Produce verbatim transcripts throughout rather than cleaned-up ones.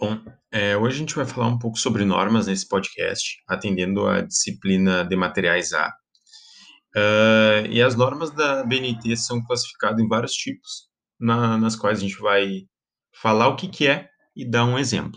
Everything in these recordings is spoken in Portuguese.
Bom, eh, hoje a gente vai falar um pouco sobre normas nesse podcast, atendendo à disciplina de materiais A. Hã, e as normas da B N T são classificadas em vários tipos, na nas quais a gente vai falar o que que é e dar um exemplo.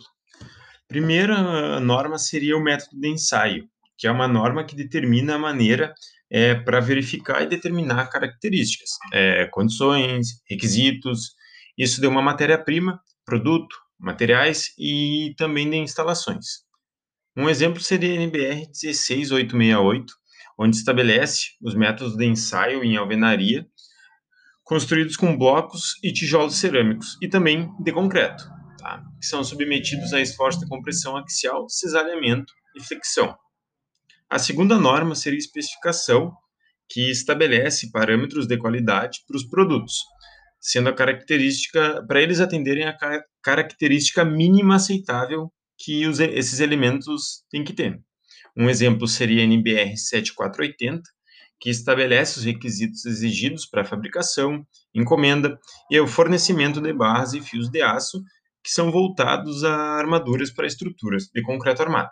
Primeira norma seria o método de ensaio, que é uma norma que determina a maneira, eh, para verificar e determinar características, eh, condições, requisitos, isso de uma matéria-prima, produto, materiais e também de instalações. Um exemplo seria a N B R dezesseis mil oitocentos e sessenta e oito, onde estabelece os métodos de ensaio em alvenaria, construídos com blocos e tijolos cerâmicos, e também de concreto, tá? Que são submetidos a esforço de compressão axial, cisalhamento e flexão. A segunda norma seria a especificação, que estabelece parâmetros de qualidade para os produtos, sendo a característica para eles atenderem a ca- característica mínima aceitável que os, esses elementos têm que ter. Um exemplo seria a N B R setenta e quatro oitenta, que estabelece os requisitos exigidos para a fabricação, encomenda e o fornecimento de barras e fios de aço que são voltados a armaduras para estruturas de concreto armado.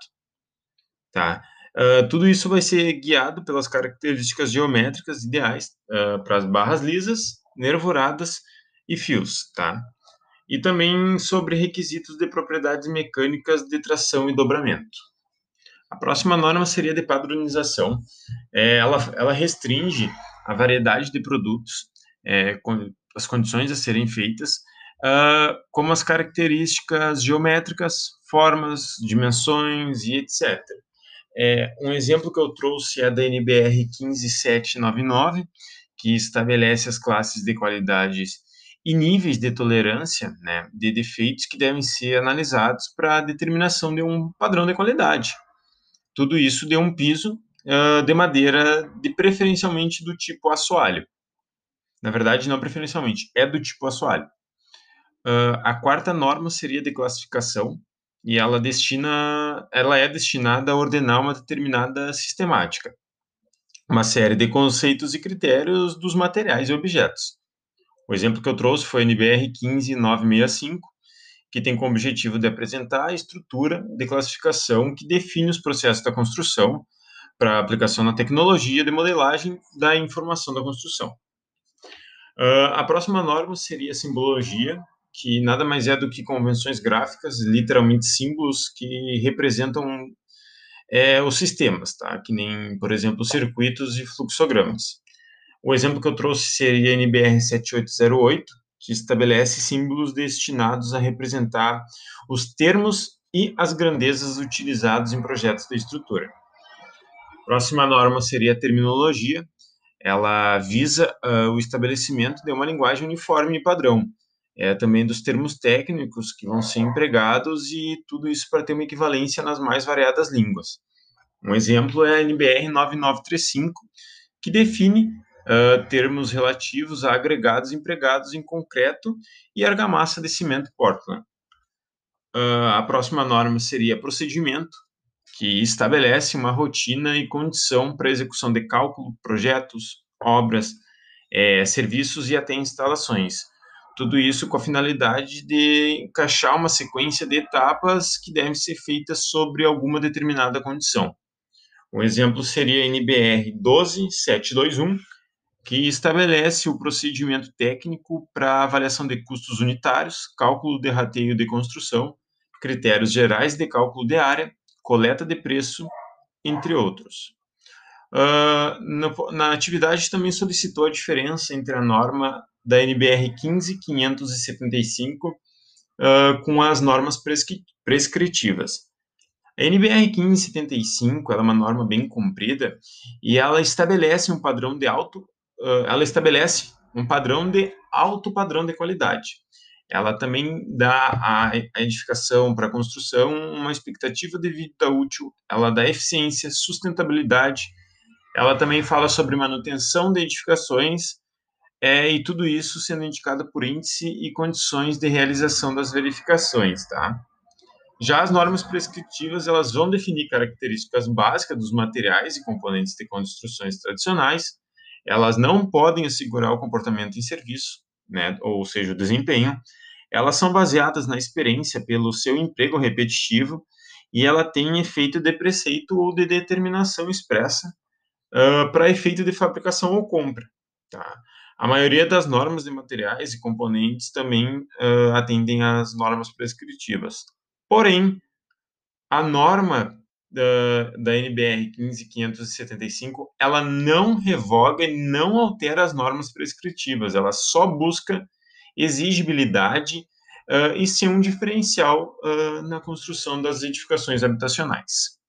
Tá? Uh, tudo isso vai ser guiado pelas características geométricas ideais uh, para as barras lisas, nervoradas e fios. Tá? E também sobre requisitos de propriedades mecânicas de tração e dobramento. A próxima norma seria de padronização. É, ela, ela restringe a variedade de produtos, é, com, as condições a serem feitas, uh, como as características geométricas, formas, dimensões e etcétera. É, um exemplo que eu trouxe é da N B R quinze mil setecentos e noventa e nove, que estabelece as classes de qualidades e níveis de tolerância, né, de defeitos que devem ser analisados para a determinação de um padrão de qualidade. Tudo isso de um piso uh, de madeira, de preferencialmente do tipo assoalho. Na verdade, não preferencialmente, é do tipo assoalho. Uh, a quarta norma seria de classificação, e ela destina, ela é destinada a ordenar uma determinada sistemática, uma série de conceitos e critérios dos materiais e objetos. O exemplo que eu trouxe foi a N B R quinze mil novecentos e sessenta e cinco, que tem como objetivo de apresentar a estrutura de classificação que define os processos da construção para aplicação na tecnologia de modelagem da informação da construção. Uh, a próxima norma seria a simbologia, que nada mais é do que convenções gráficas, literalmente símbolos que representam é, os sistemas, tá? Que nem, por exemplo, circuitos e fluxogramas. O exemplo que eu trouxe seria a N B R setenta e oito zero oito, que estabelece símbolos destinados a representar os termos e as grandezas utilizados em projetos de estrutura. A próxima norma seria a terminologia. Ela visa uh, o estabelecimento de uma linguagem uniforme e padrão, é, também dos termos técnicos que vão ser empregados e tudo isso para ter uma equivalência nas mais variadas línguas. Um exemplo é a N B R nove nove três cinco, que define uh, termos relativos a agregados empregados em concreto e argamassa de cimento Portland. Uh, a próxima norma seria procedimento, que estabelece uma rotina e condição para execução de cálculo, projetos, obras, é, serviços e até instalações. Tudo isso com a finalidade de encaixar uma sequência de etapas que devem ser feitas sobre alguma determinada condição. Um exemplo seria a N B R doze mil setecentos e vinte e um, que estabelece o procedimento técnico para avaliação de custos unitários, cálculo de rateio de construção, critérios gerais de cálculo de área, coleta de preço, entre outros. Uh, na, na atividade também solicitou a diferença entre a norma da N B R quinze mil quinhentos e setenta e cinco uh, com as normas prescri prescritivas. A N B R quinze mil setenta e cinco ela é uma norma bem comprida e ela estabelece um padrão de alto, uh, ela estabelece um padrão de alto padrão de qualidade. Ela também dá à edificação para a construção uma expectativa de vida útil, ela dá eficiência, sustentabilidade, ela também fala sobre manutenção de edificações, é, e tudo isso sendo indicado por índice e condições de realização das verificações, tá? Já as normas prescritivas, elas vão definir características básicas dos materiais e componentes de construções tradicionais, elas não podem assegurar o comportamento em serviço, né, ou seja, o desempenho, Elas são baseadas na experiência pelo seu emprego repetitivo e ela tem efeito de preceito ou de determinação expressa uh, para efeito de fabricação ou compra. Tá? A maioria das normas de materiais e componentes também uh, atendem às normas prescritivas. Porém, a norma da, da N B R quinze mil quinhentos e setenta e cinco, ela não revoga e não altera as normas prescritivas, ela só busca exigibilidade uh, e ser um diferencial uh, na construção das edificações habitacionais.